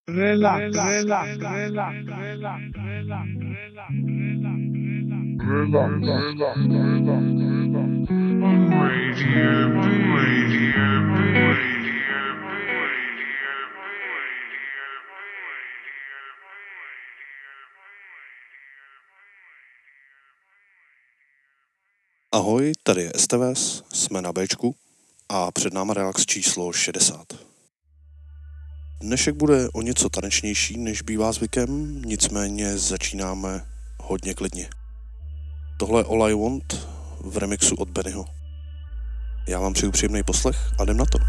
Relax. Ahoj, tady je STVS, jsme na Bčku a před náma relax číslo 60. Dnešek bude o něco tanečnější, než bývá zvykem, nicméně začínáme hodně klidně. Tohle je All I Want v remixu od Bennyho. Já vám přeju příjemný poslech a jdem na to.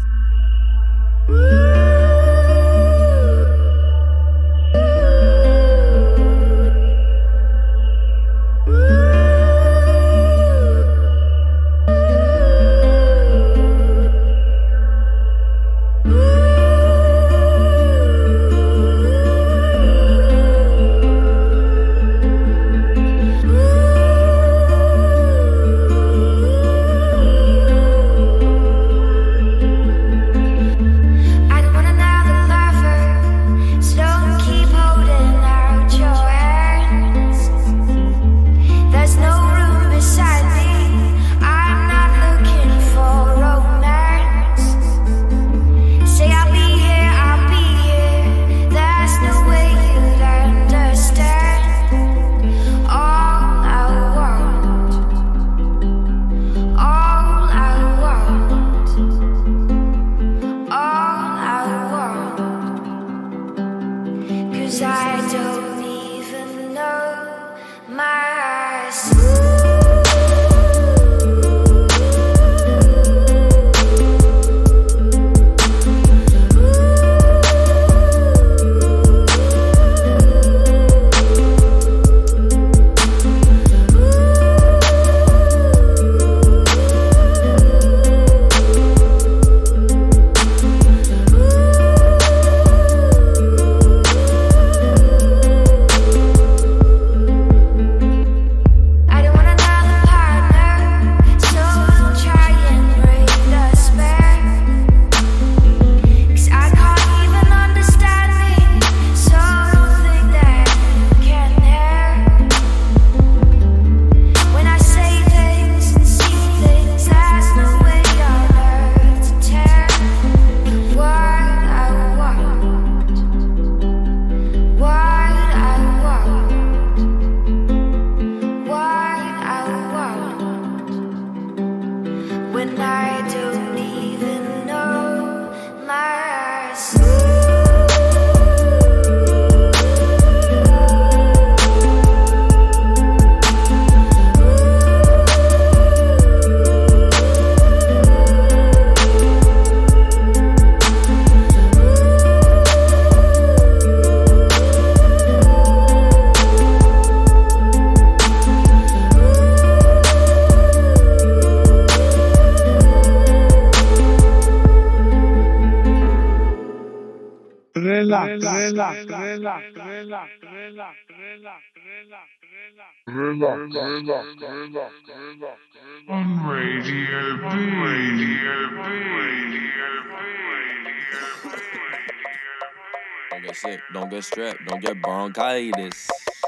Don't get sick, don't get strapped, don't get bronchitis.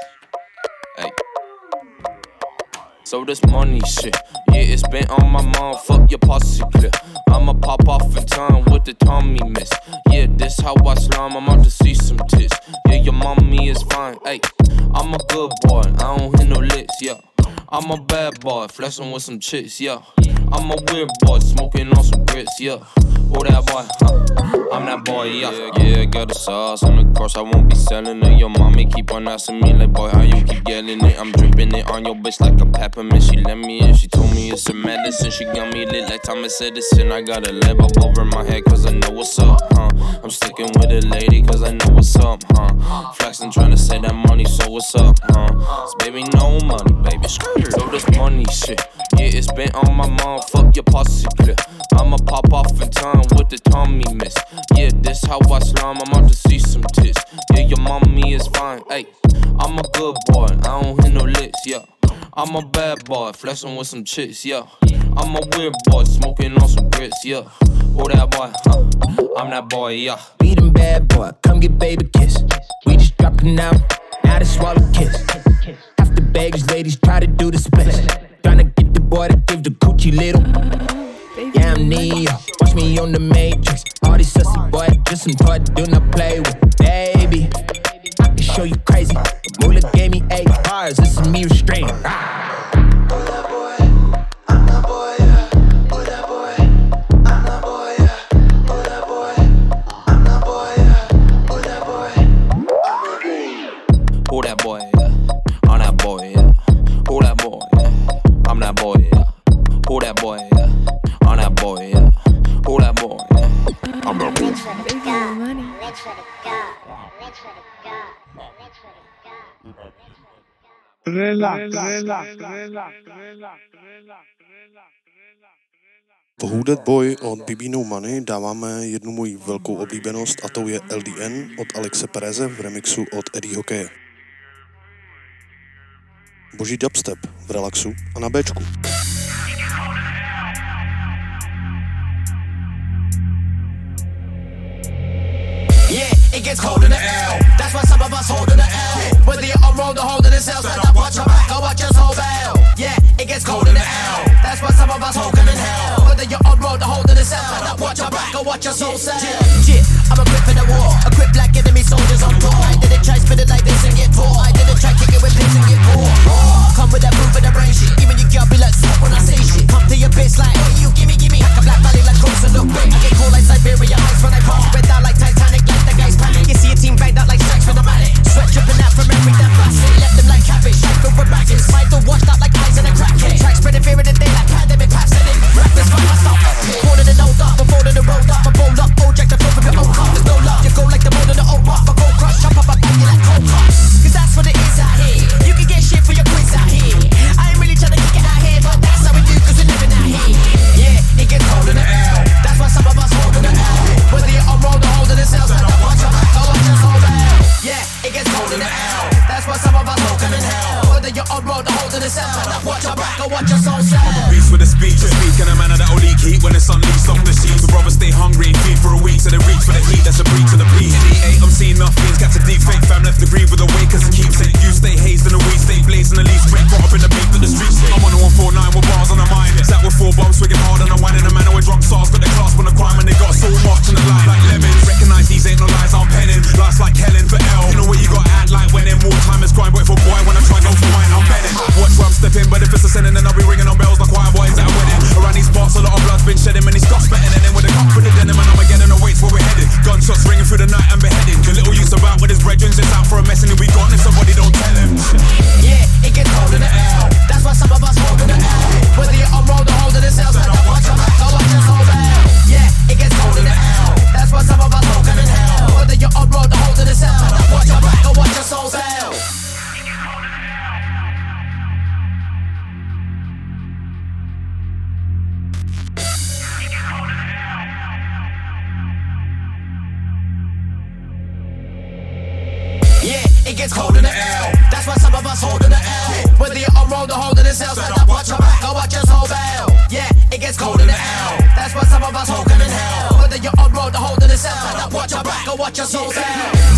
Hey. So this money shit, yeah, it's been on my mind, fuck your posse clear. I'ma pop off in time with the Tommy miss. Yeah, this how I slime, I'm out to see some tits. Yeah, your mommy is fine, hey. I'm a good boy, I don't hit no licks, yeah. I'm a bad boy, flexing with some chicks, yeah. I'm a weird boy, smoking on some grits, yeah. Oh, that boy, I'm that boy, yeah. Yeah, got the sauce on the course, I won't be selling it. Your mommy keep on asking me like, boy, how you keep yelling it? I'm dripping it on your bitch like a peppermint. She let me in, she told me it's a medicine. She got me lit like Thomas Edison. I got a lamp up over my head cause I know what's up, I'm sticking with a lady cause I know what's up, Flexing trying to say that money, so what's up, So baby, no money, baby, so this money shit, yeah, it's been on my mind, fuck your posse clear. I'ma pop off in time with the Tommy miss. Yeah, this how I slime, I'm out to see some tits. Yeah, your mommy is fine, ayy. I'm a good boy, I don't hit no licks, yeah. I'm a bad boy, flexing with some chicks, yeah. I'm a weird boy, smoking on some grits, yeah. Who that boy? I'm that boy, yeah. Be them bad boy, come get baby kiss. We just dropped it now they swallow kiss. Half the baggage ladies try to do the splits. Tryna get the boy to give the coochie little. Yeah, I'm Neo, watch me on the Matrix. All these sussy boys, just some toy do not play with. Baby, I can show you crazy. Moolah gave me 8 bars, this is me restrained. Who that boy, yeah? I'm that boy, yeah. Who that boy, yeah? I'm that boy, yeah. Who that boy, yeah? I'm that boy, yeah. Who that boy, yeah? I'm that boy. Rich for the God, money. rich for the God, rich for the God, rich for the God. Po Who That Boy od BB No Money dáváme jednu moji velkou oblíbenost a tou je LDN od Alexe Pereze v remixu od Eddie Hokeje. Boží dubstep v relaxu a na Bčku. It gets cold in the L. That's why some of us holding the L. Whether you're on road or holding the cell, stand up, watch your back, or watch your soul bell. Yeah, it gets cold in the L. That's why some of us holding in hell. Whether you're on road or holding the cell, stand up, watch your back, or watch your soul sell. Yeah, I'm equipped for the war, equipped like enemy soldiers on tour. I didn't try spit it like this and get poor. I didn't try kick it with piss and get poor. Come with that proof of the brain shit. Even your girl be like swap when I say shit. Come to your bitch like, hey you, gimme. Like a black valley like Crooks and look big. I get cold like Siberia ice when I pass. Red down like Titanic, like the guys panic. You see a team banged out like strikes for the manic. Sweat dripping out from every damn facet. Left them like cabbage, like filled with maggots. Mind all washed out like eyes in a crackhead. Track spreading fear in the day like pandemic pandemic. Rap this fight, I stop epic. Cornered and old up, before the road up. I roll up, old jack the flow from your old cup. There's no love, you go like the mold of the old rock. I go crush, chop up, I bang you like cold cuts. Cause that's what it is out here. You can get shit for your quiz out here. I ain't really trying to kick it out here, but that's how we do cause we're living out here. Yeah, it gets cold in the L. That's why some of us holding the L. Whether you're on road or holding the cells, stand up, watch your back, or watch your soul bell. Yeah, it gets cold in the L. That's why some of us holding in hell. Whether you're on road or holding the cells, stand up, watch your back, or watch your soul sell. Beast with a speech, speak in a manner that'll leak heat when it's unleashed off the sheets. The brothers stay hungry and feed for a week, so they reach for the heat, that's a breach of the peace. In the 8, I'm seeing nothing, got to deep fake fam left to grieve with a wake as it keeps it. You stay hazed in the weed, stay blazing the least, straight caught up in the beef of the streets. I'm on a 149 with bars on the mind. Sat with 4 bombs, swigging hard on the wine in a manner with drunk sauce. Got the class on the crime and they got so much on the line. Like lemons, recognize these ain't no lies, I'm penning. Life's like Helen for L. You know what you got act like when in wartime is crime. But if a boy when I try go for mine, I'm betting. Watch where I'm stepping, but if it's a sinning, then I'll be ringing on bells like choir boys at a wedding. Around these parts, a lot of blood's been shedding. Many scuffs betting, and then with a cup with the denim, and Armageddon awaits where we're headed. Gunshots ringing through the night and beheading. The little use about with his brethren, just out for a mess, and he'll be gone if somebody don't tell him. Yeah, it gets cold in the L. That's why some of us holding the L. Whether you're on road or holding the cells, stand up, watch your back, or watch your soul bell. Yeah, it gets cold in the L. That's why some of us holding in hell. Whether you're on road or holding the cells, stand up, watch your back, or watch your soul bell. Yeah, it gets cold in the L. That's why some of us holding the L. Whether you're on road or holding the cells, stand up, watch your back, or watch your soul bell. Yeah, it gets cold in the L. That's why some of us holding in hell. Whether you're on road or holding the cells, stand up, watch your back, or watch your soul bell.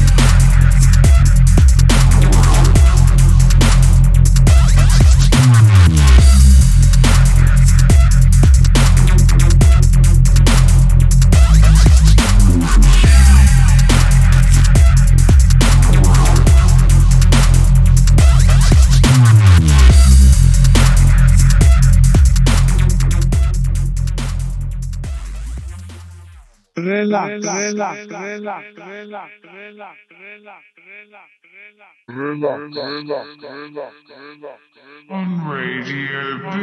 On Radio B.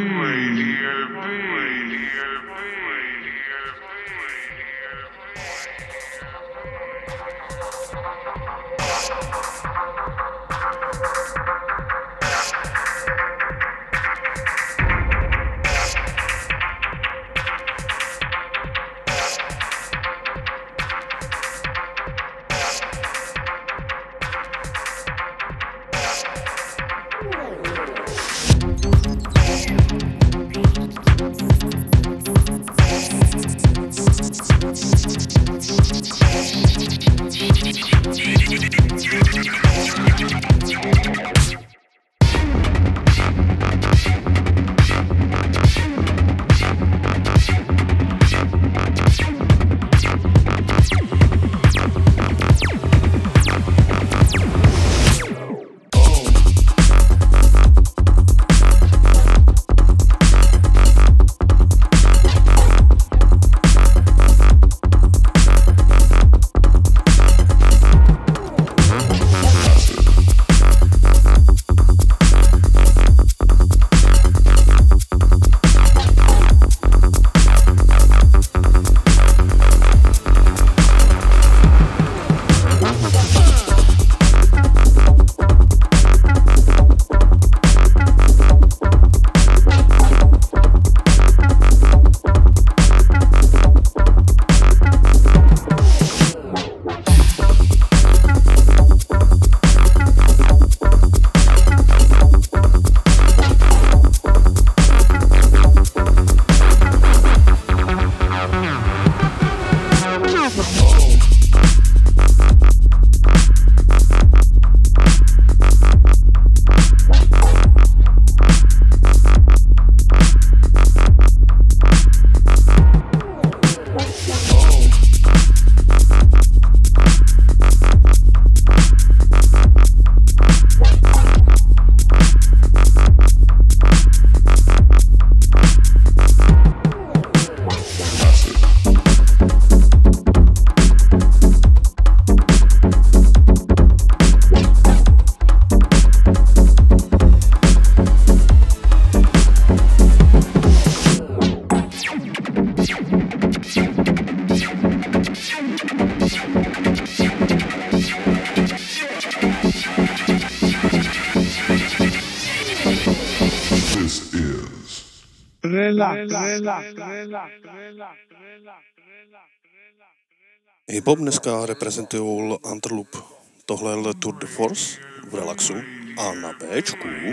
Hip-hop dneska reprezentují Antelope. Tohle je Tour de Force v relaxu a na Bčku. We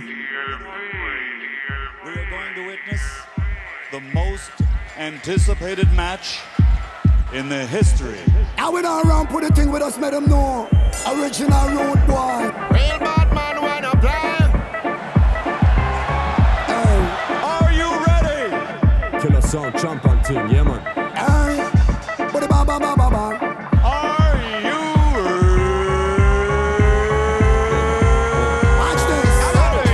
are going to witness the most anticipated match in the history. I went around, put a thing with us, made them know. Original road boy. Real bad man wanna play. Hey, Are you ready? Killer sound, champion thing, yeah man. hey. Put it ba ba ba ba ba. Are you Watch this. ready?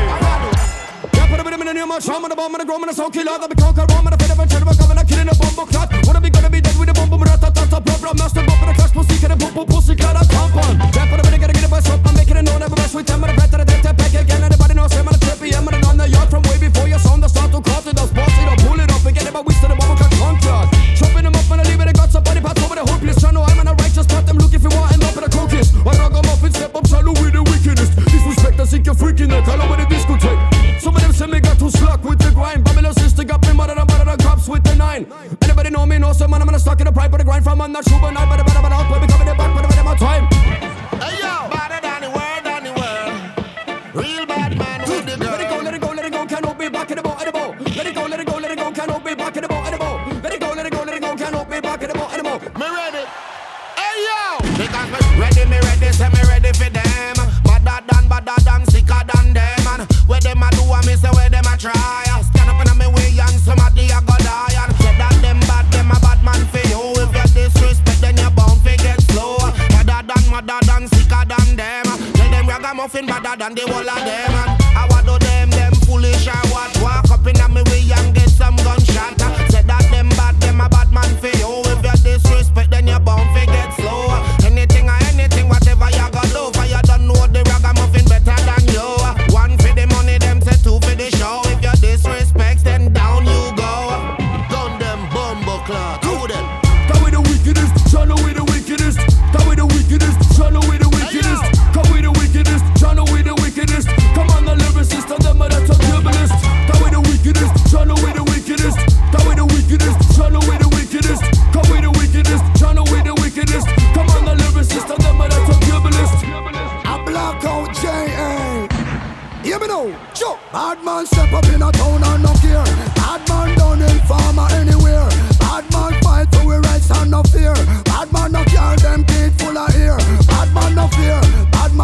Yeah, put a bit of in your mouth, show me the bomb and the groom and the soul killer. That be conquer Rome and the fed of a cherry, coming and killing a bomb clot. Wanna be gonna be dead with a bomb, rat-tat-tat, problem, master, bump in the clash, pussy, get a boom, pussy, cut a compound. Yeah, put a bit of get a bus up, I'm making it known, everybody sweet, I'm gonna bet that I take that back again. Everybody knows I'm on a trippy, I'm on the yard from way before your sound, the start to cut it, the spots, it up, pull it up, and get it, but we still the bomb, cut conquer. Chopping them up and I leave it, I got some body parts over the whole place. Trying to I'm in a righteous path, them look if you want, end up in a cookies. I rock them up and step up, shallow with the wickedest. Disrespect, I think you're freaking neck, I know where the discotheque. Some of them say me got too slack with the grind. Babylon sister got me mother than cops with the 9. Anybody know me, know some man, I'm gonna stuck in the pipe with the grind from I'm not sure, but I better out, but we coming back, but I'm my time. Hey yo, better than the world. Real bad man with the Let it go, let it go, let it go, can't hold me back in the boat, at the boat. Let it go, let it go, let it go, can't hold me back in the boat, at the boat. Let it go, let it go, let it go, can't hold me back in the boat, at the boat. Me ready. Hey yo, because me ready, say me ready for them. Badder than, sicker than them. And where them a do, I me say where them a try. Stand up in me way and somebody a go die. And say that them a bad man for you. If you disrespect, then you bound to get slow. Madder than, sicker than them. Tell them ragamuffin badder than the whole of them. And I want to them foolish or what? Walk up in me way and get some gunshot. Say that them a bad man for you. If you disrespect, then you bound to get slow. Anything, whatever you go do, for you don't know the ragamuffin better than you. One for the money, them say two for the show. If you disrespect, then down you go. Gun them bumbo clock, do them. Come with the wickedest, Channel with the wickedest. Come with the wickedest, Channel with the wickedest. Come with the wickedest, Channel with the wickedest. Come on the lyricist, and them are the turbulist. Come with the wickedest, Channel with the wickedest. Come with the wickedest, Channel with the wickedest. Come with the wickedest, Channel with the wickedest. Come on the lyricist, and them are the turbulist. A blackout J.A. Hear me now, Joe. Bad man step up in a town and no care. Bad man down in farmer anywhere. Bad man fight for we rights and no fear. Bad man no care them teeth full of ear. Bad man no fear. Bad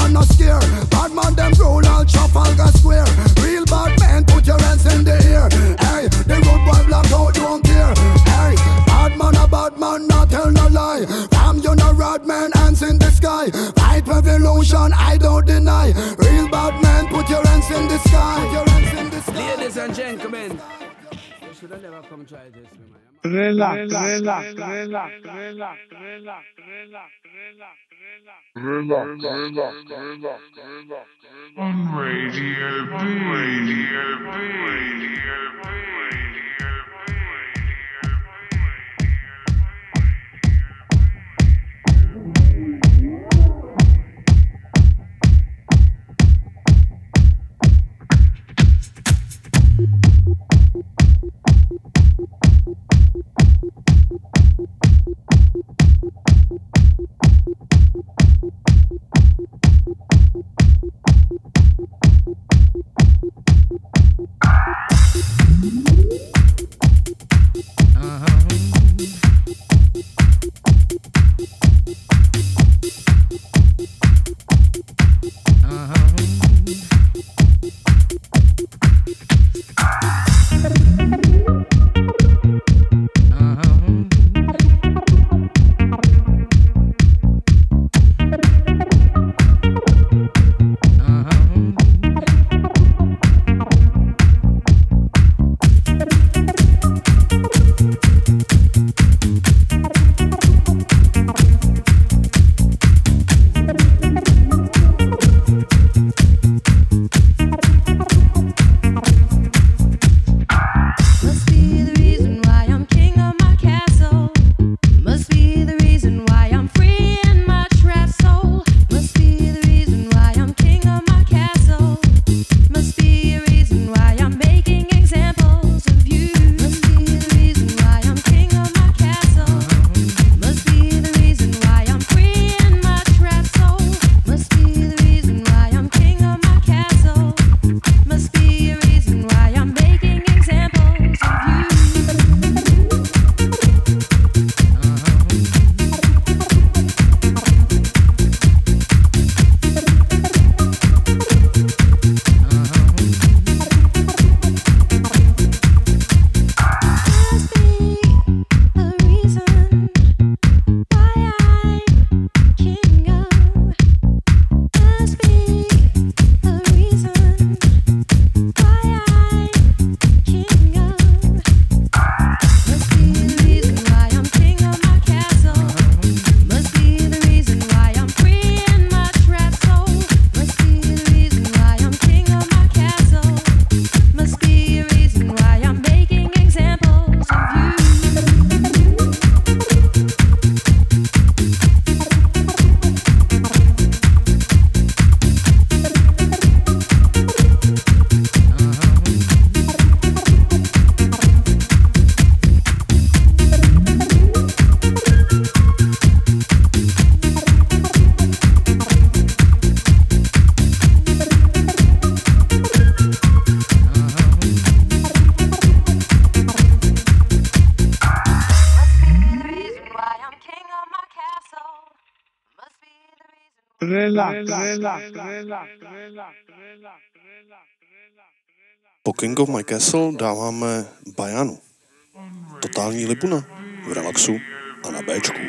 high. Fight revolution, I don't deny. Real bad men, put your hands in the sky. Ladies and gentlemen, you should have never come try this with me. Relax. On Radio B. Po King of My Castle dáváme Bajanu. Totální libuna v relaxu a na Bčku.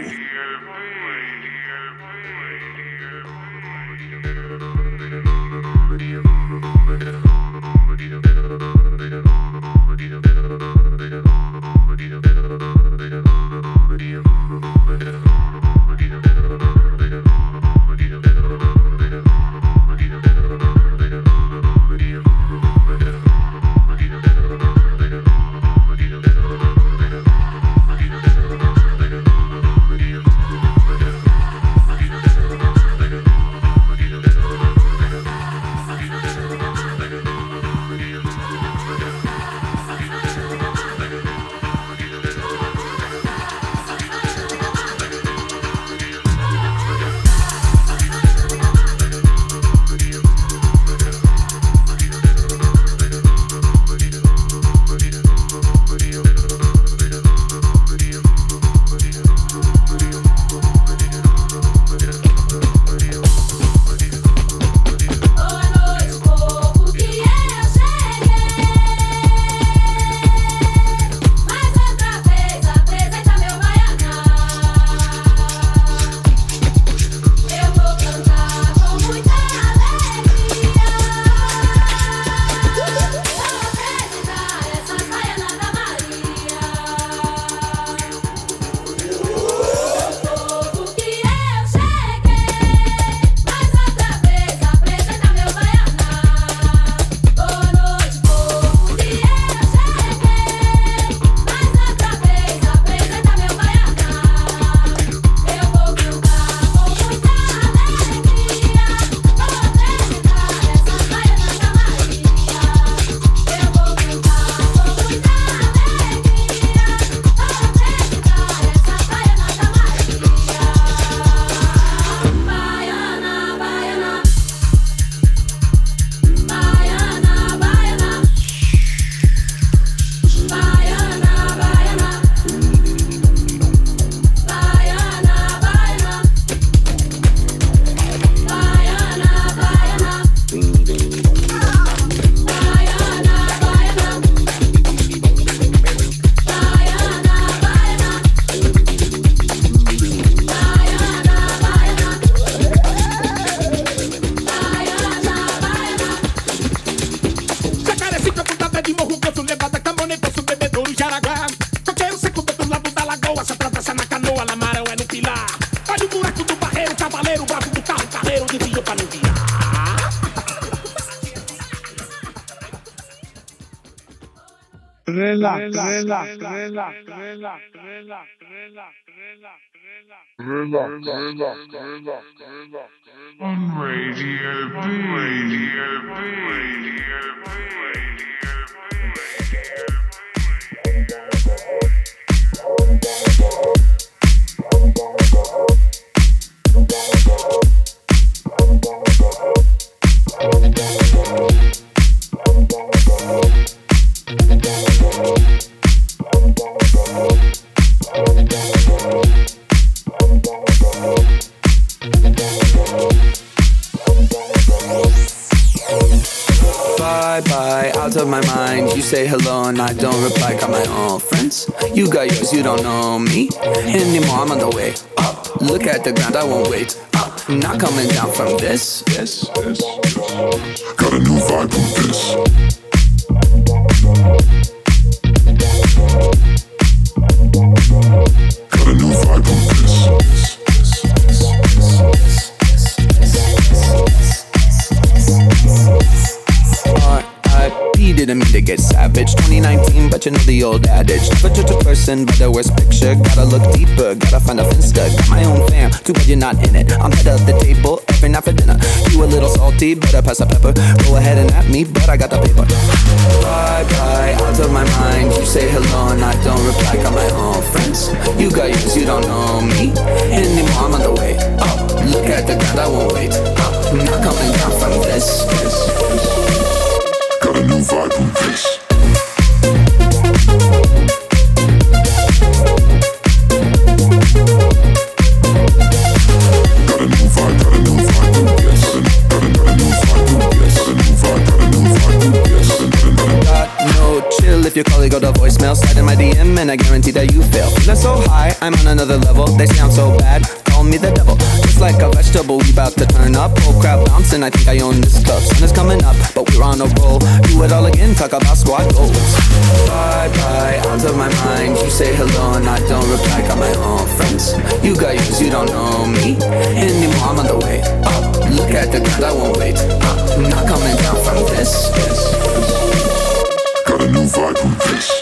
for your panty. Relax. On Radio Bye, out of my mind. You say hello and I don't reply. Got my own friends. You got yours, you don't know me anymore. I'm on the way up. Look at the ground, I won't wait up. Not coming down from this. Got a new vibe from this. Got a new vibe from this. R.I.P. didn't mean to get savage. 2019, but you know the old adage. Never judge a person by the worst picture. Gotta look deeper, gotta find a finsta. Got my own fam, too bad you're not in it. I'm head of the table every night for dinner. You a little salty, better pass the pepper. Go ahead and at me, but I got the paper. Bye, out of my mind. You say hello and I don't reply. Got my own friends. You got yours, you don't know me anymore. I'm on the way up. Look at the ground, I won't wait up. Not coming down from this. Got a new vibe from this. If your colleague got a voicemail, slide in my DM and I guarantee that you fail. Feeling so high, I'm on another level. They say I'm so bad, call me the devil. Just like a vegetable, we bout to turn up. Whole crowd bouncing, I think I own this club. Sun is coming up, but we're on a roll. Do it all again, talk about squad goals. Bye, out of my mind. You say hello and I don't reply. Got my own friends. You got yours, you don't know me anymore. I'm on the way up. Look at the ground, I won't wait up. Not coming down from this. Got a new vibe from this.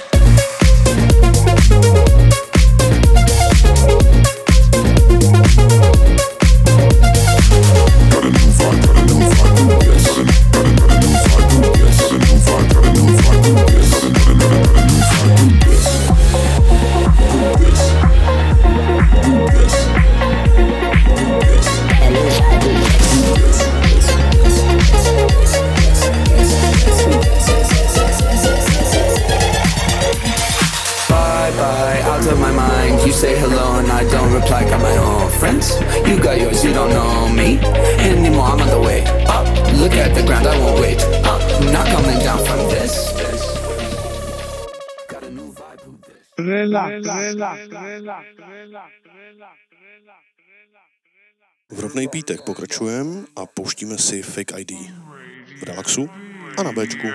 Say hello and I don't reply. Got my own friends. You got yours, you don't know me anymore. I'm on the way up. Look at the ground, I won't wait up. Not coming down from this. Got a new vibe from this. V rovnej pítek pokračujeme a pouštíme si Fake ID v relaxu a na Bčku.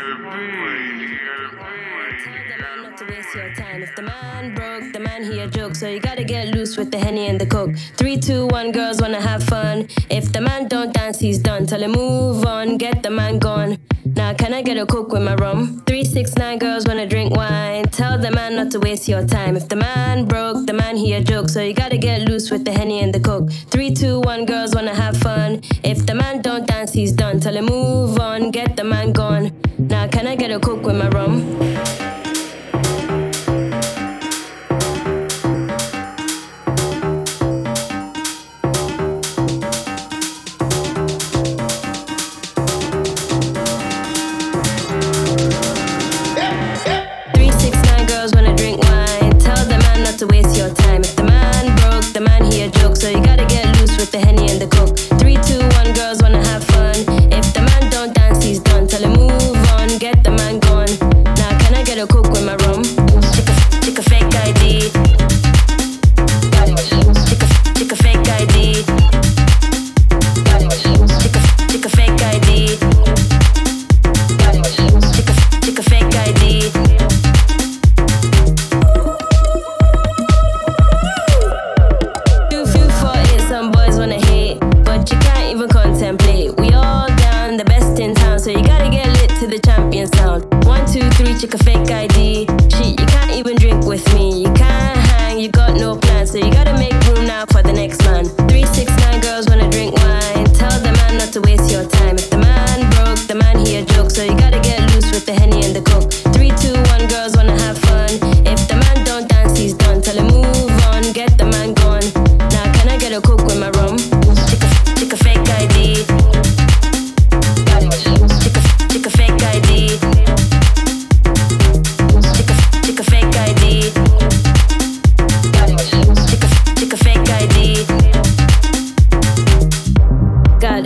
Your time. If the man broke, the man he a joke, so you gotta get loose with the Henny and the Coke. 3, 2, 1, girls wanna have fun. If the man don't dance, he's done. Tell him move on, get the man gone. Now can I get a Coke with my rum? 3, 6, 9, girls wanna drink wine. Tell the man not to waste your time. If the man broke, the man he a joke, so you gotta get loose with the Henny and the Coke. 3, 2, 1, girls wanna have fun. If the man don't dance, he's done. Tell him move on, get the man gone. Now can I get a Coke with my rum? To waste your time. If the man broke, the man he a joke, so you gotta get loose with the Henny and the Coke. 3, 2, 1, girls wanna have fun. If the man don't dance, he's done. Tell him move on, get the man gone. Now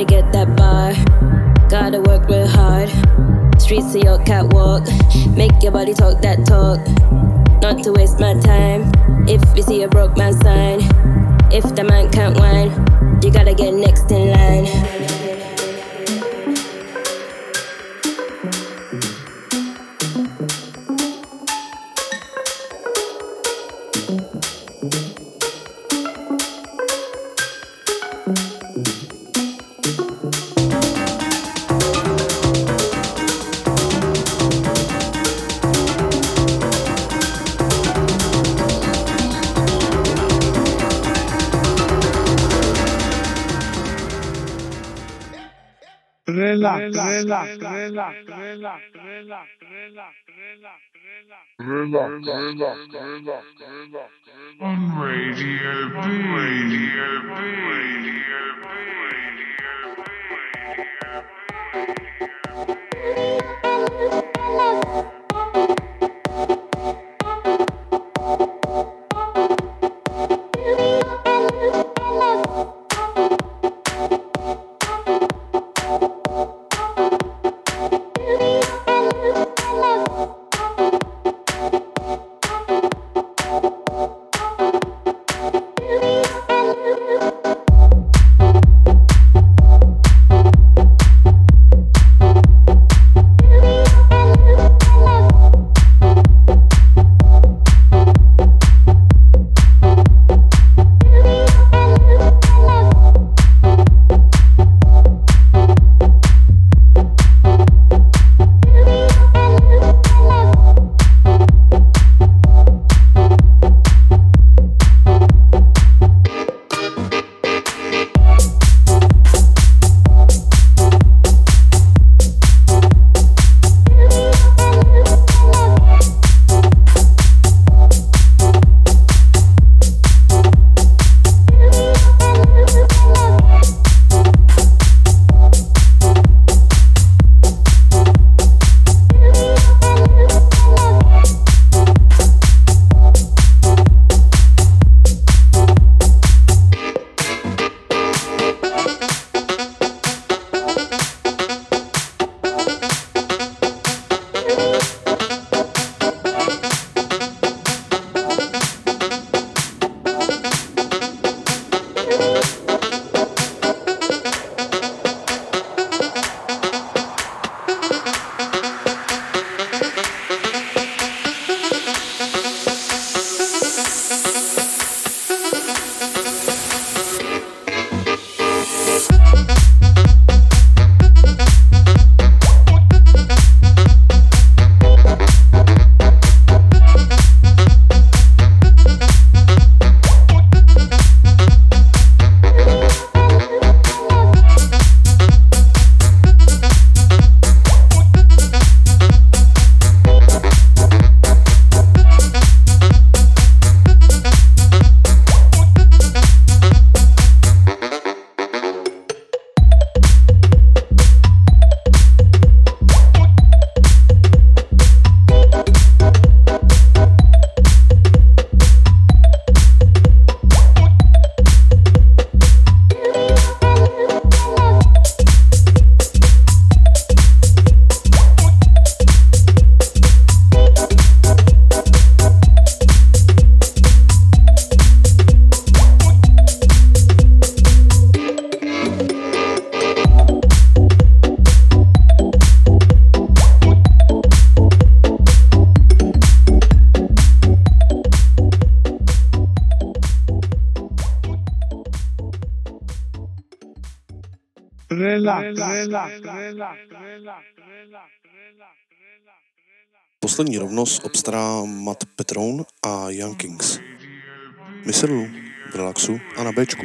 get that bar. Gotta work real hard. Streets to your catwalk. Make your body talk that talk. Not to waste my time. If you see a broke man sign, if the man can't whine, you gotta get next in line. On Radio B. Radio B. Radio B. Poslední rovnost obstará Matt Petrone a Young Kings. Myslel v relaxu a na Bčku.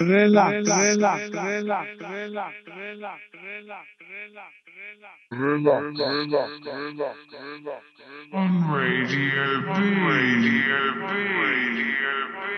On Radio B. Radio B. Radio B.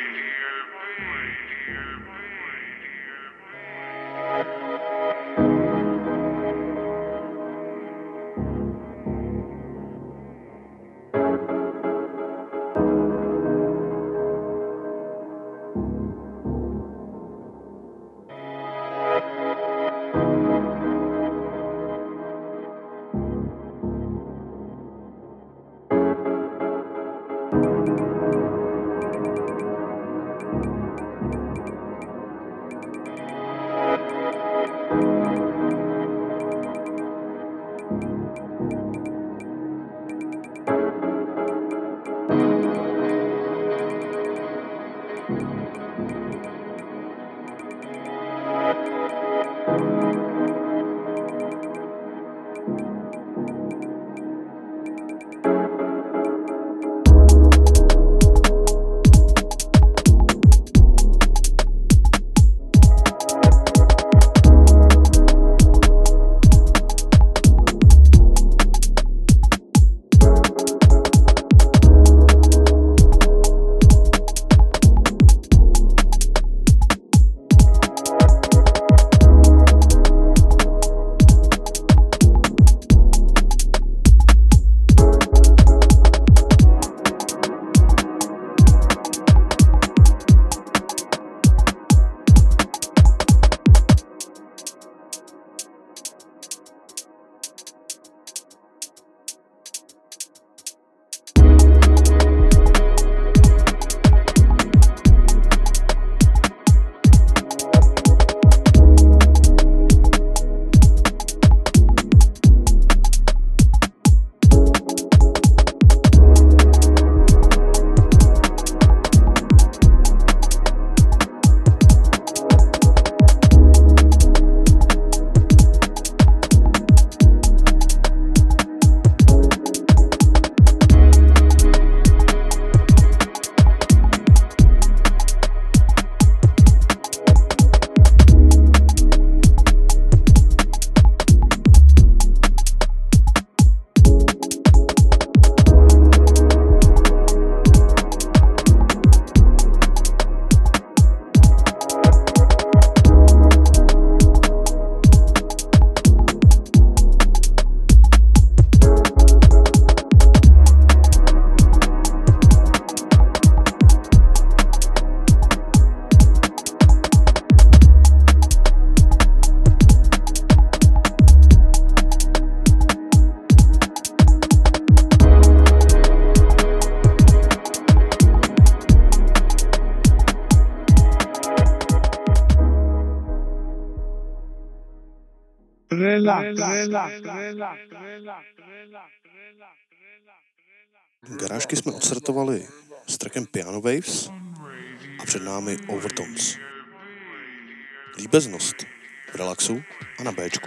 Garážky jsme odstartovali s trackem Piano Waves a před námi Overtones. Líbeznost v relaxu a na Bčku.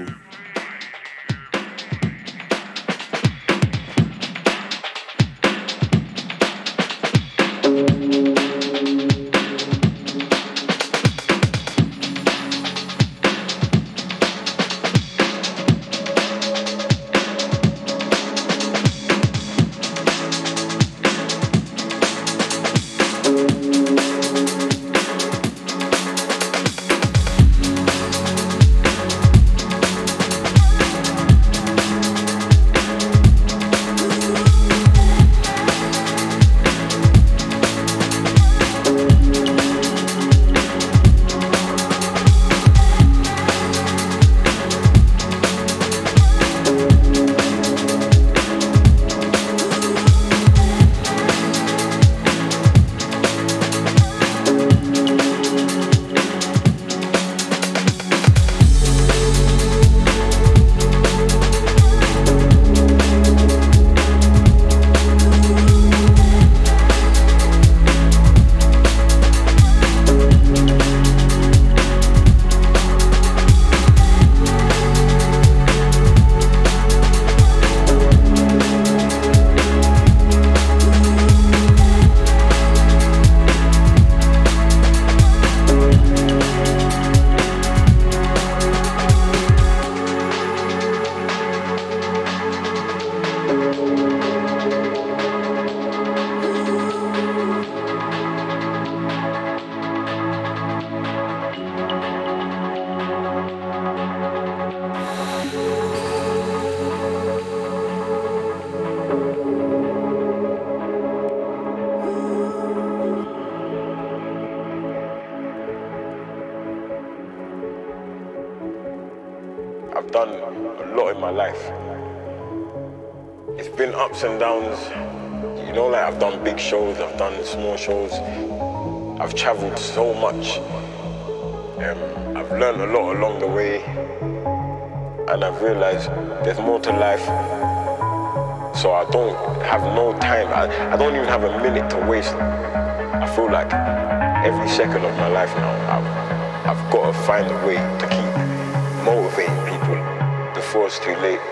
I've done a lot in my life. It's been ups and downs. You know, like I've done big shows, I've done small shows. I've traveled so much. I've learned a lot along the way. And I've realized there's more to life. So I don't have no time. I don't even have a minute to waste. I feel like every second of my life now, I've got to find a way to keep motivating people before it's too late.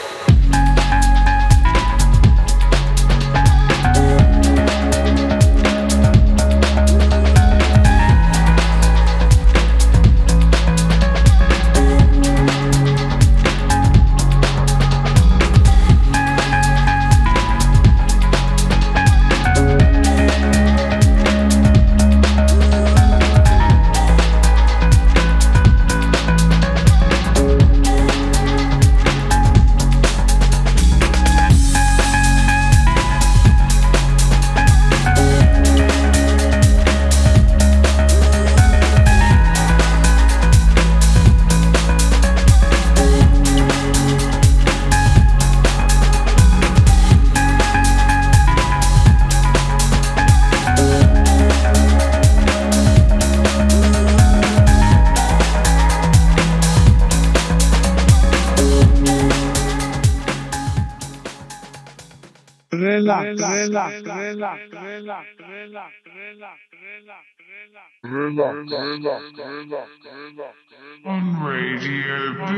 On Radio B.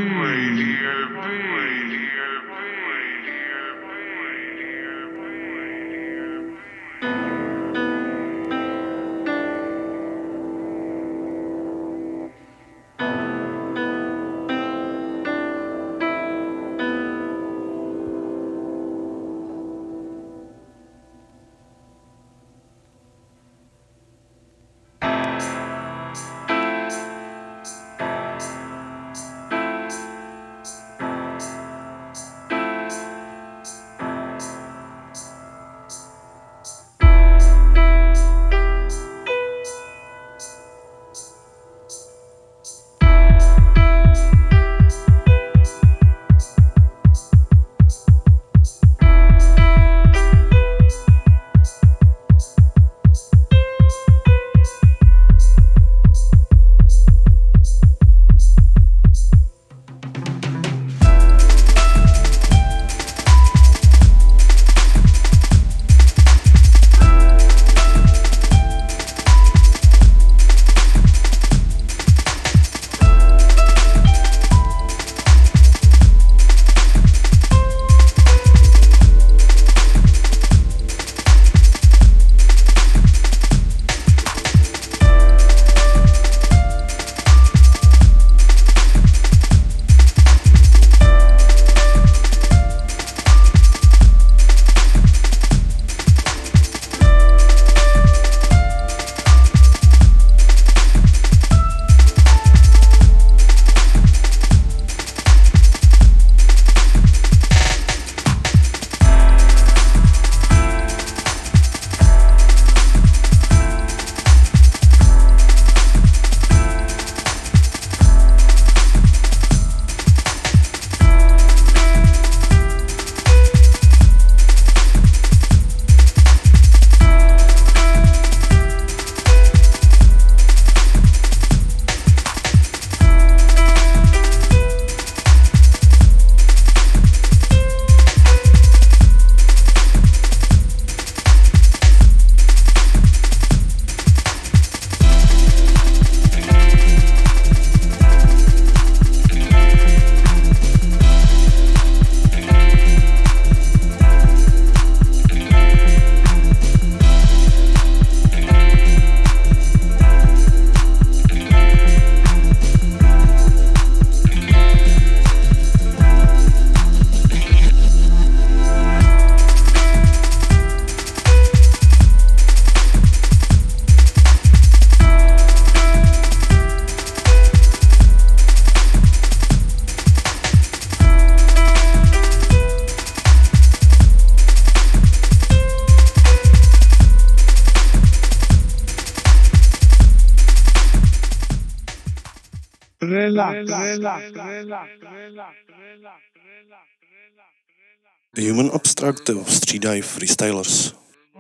Human Abstract střídají Freestylers.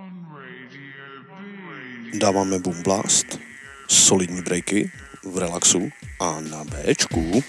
Dáváme Boom Blast, solidní breaky v relaxu a na Bčku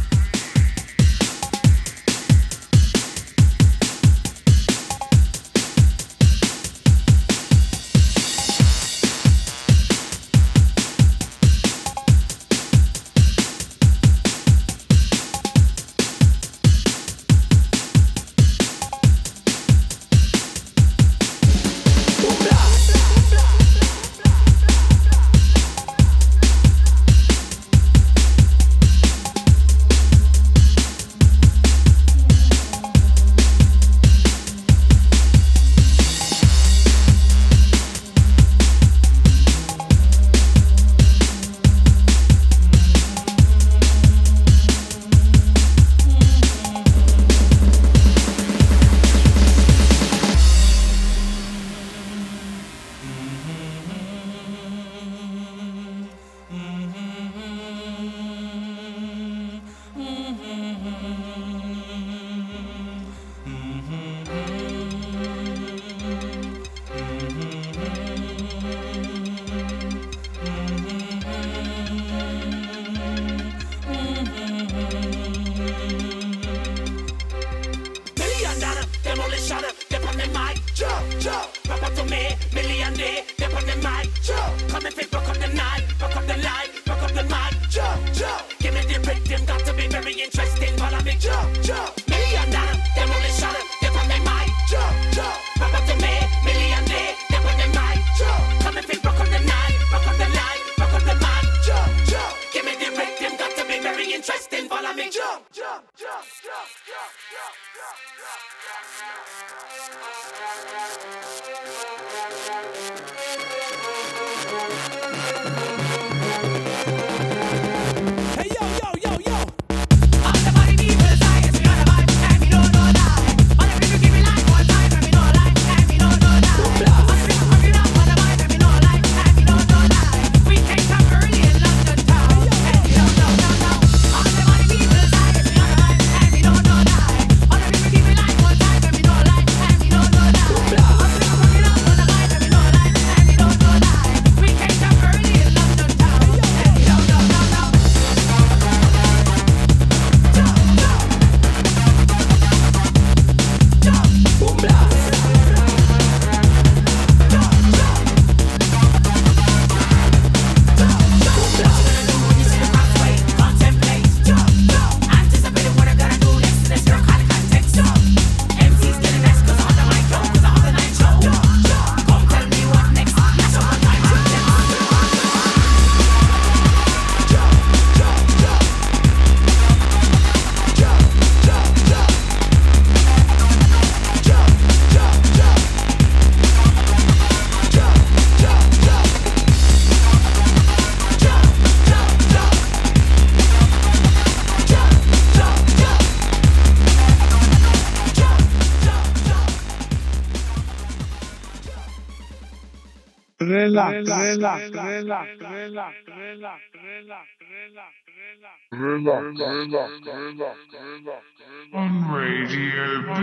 On Radio B.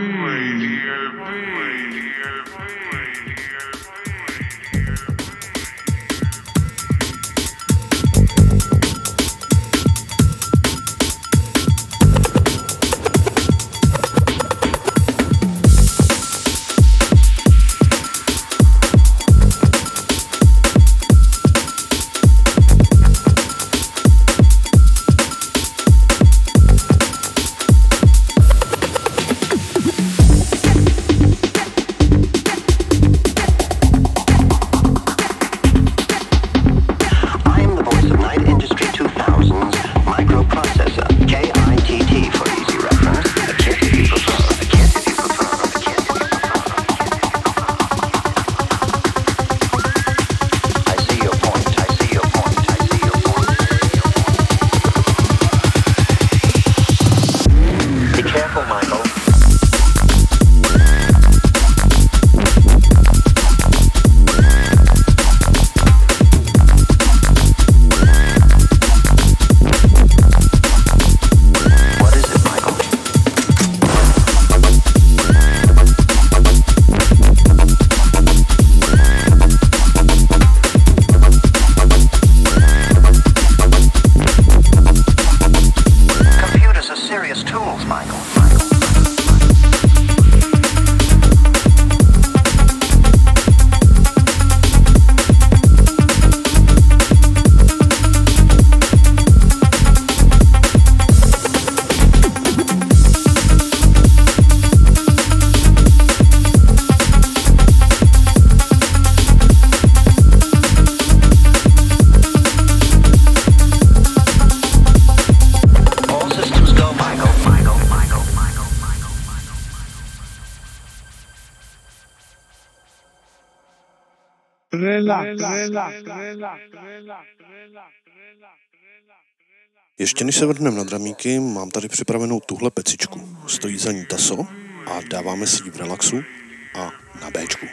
Ještě než se vrhneme na dramíky, mám tady připravenou tuhle pecičku. Stojí za ní taso a dáváme si ji v relaxu a na Bčku.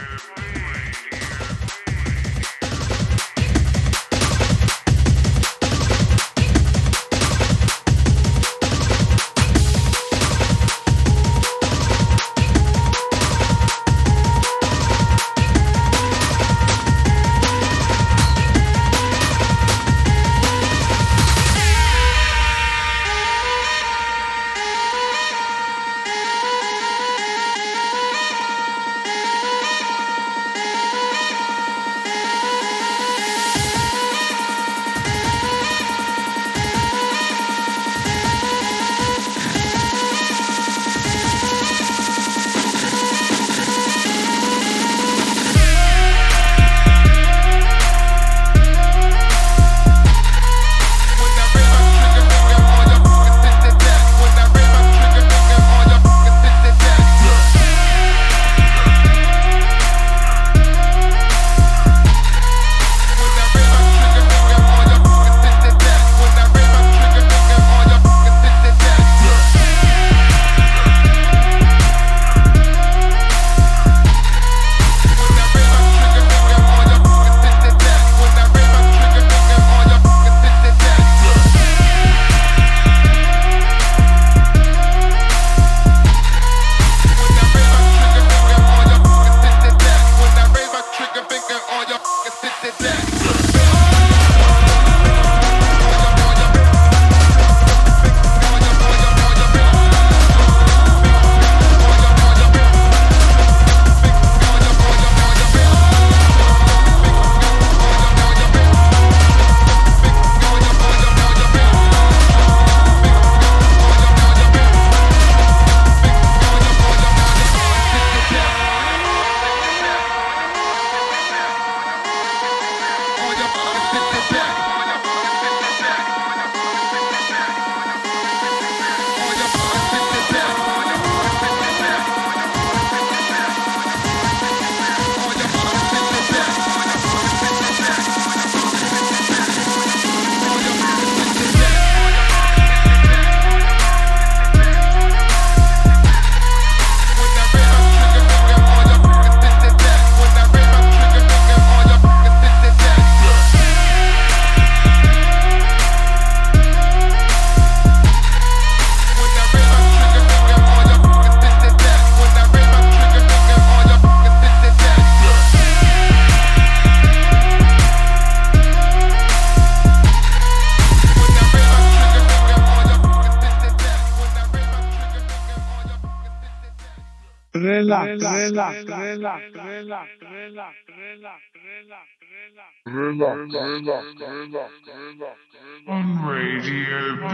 On Radio B.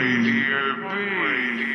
Radio B.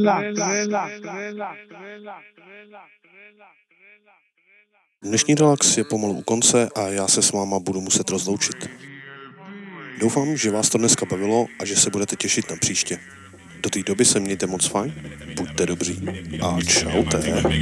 Dnešní relax je pomalu u konce a já se s váma budu muset rozloučit. Doufám, že vás to dneska bavilo a že se budete těšit na příště. Do té doby se mějte moc fajn, buďte dobří a čaute.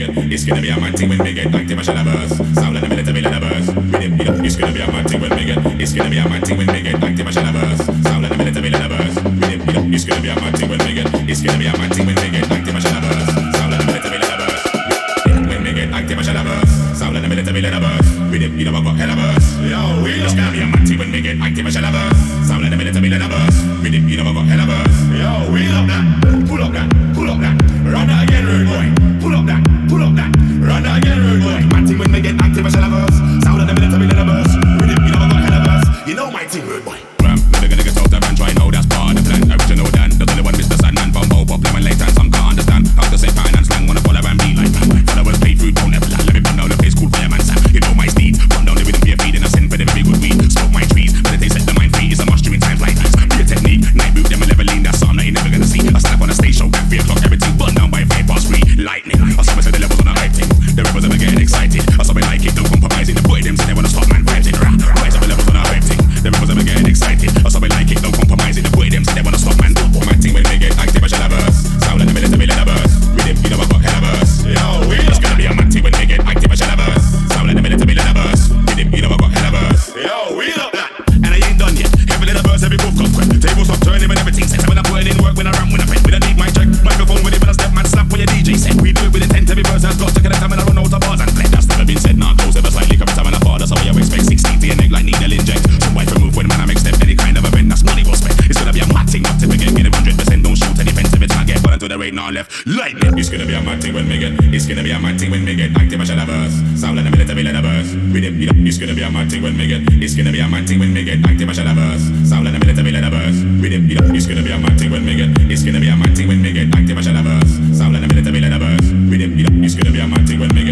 Sound like the military letterverse. With it, you know I got hella verse. Yo, we just gonna be a matty when we get active as letterverse. Sound like the military letterverse. With it, you know I got hella verse. Yo, we love that. Pull up that. Pull up that. Run that again, rude boy. Pull up that. Pull up that. Run that again, rude boy. Matty when we get active as letterverse. Sound like the military letterverse. With it, you know I got hella verse. You know my team, rude boy. Never gonna get out of and try know that's part of the plan. Original Dan, the only one Mr. Sandman from Bow Pop, Lemon Late and some can't understand. How to say finance slang, wanna follow and be like followers pay food, don't ever let me run down the place called Fireman Sam. You know my steed, run down the rhythm, be a feed and I send for the very good weed. Smoke my trees, meditate, set the mind free. Is a must during times like these. Be a technique, night boot, them a level lean. That's something that you never gonna see. I stand up on a stage show at 3 o'clock, everything burn down by 3:3. Lightning, I saw me say the levels on the hype thing. The rebels ever getting excited. I saw me like it, don't compromise it. The boy them say they wanna stop man vibes it. Rise up the levels on the hype thing. The rebels ever getting excited. I saw me like it, don't compromise it. The boy them say they wanna stop man. My team when they get active, I shall have verse. Sound like the military letterverse. With him, you know I got hella verse. Yo, we just gonna be a matty when they get active, I shall have verse. Sound like the military letterverse. With him, you know I got hella verse. Yo, we love that. And I ain't done yet. Heavy letterverse, every move comes quick. Tables stop turning when everything set. When I'm putting in work, when I rap, when I pen. With a deep mic check, microphone with it, when I step, man, slap when your DJ set. We do it with intent, every verse has got to connect time when I run out of bars and play. That's never been said, nah, close ever slightly, every time when I fall, that's how you expect. 16 to your neck like needle inject. So wife remove when man I make step, any kind of event, that's money well spent. It's gonna be a mad thing, not to forget, get it 100%, don't shoot any fence if it's not get put into the right now left. Lightning, it's gonna be a mad thing when we get, it's gonna be a mad thing when we get active, I shall have verse. Sound like the military letterverse. With it, it's gonna be a mad thing when we get, it's gonna be a mad thing when we get active, I shall have verse. Sound like the military letterverse. With it, it's gonna be a mad thing when we get, it's gonna be a mad thing when we get active, I shall have verse. Sound like the military letterverse. With it, it's gonna be a mad thing when we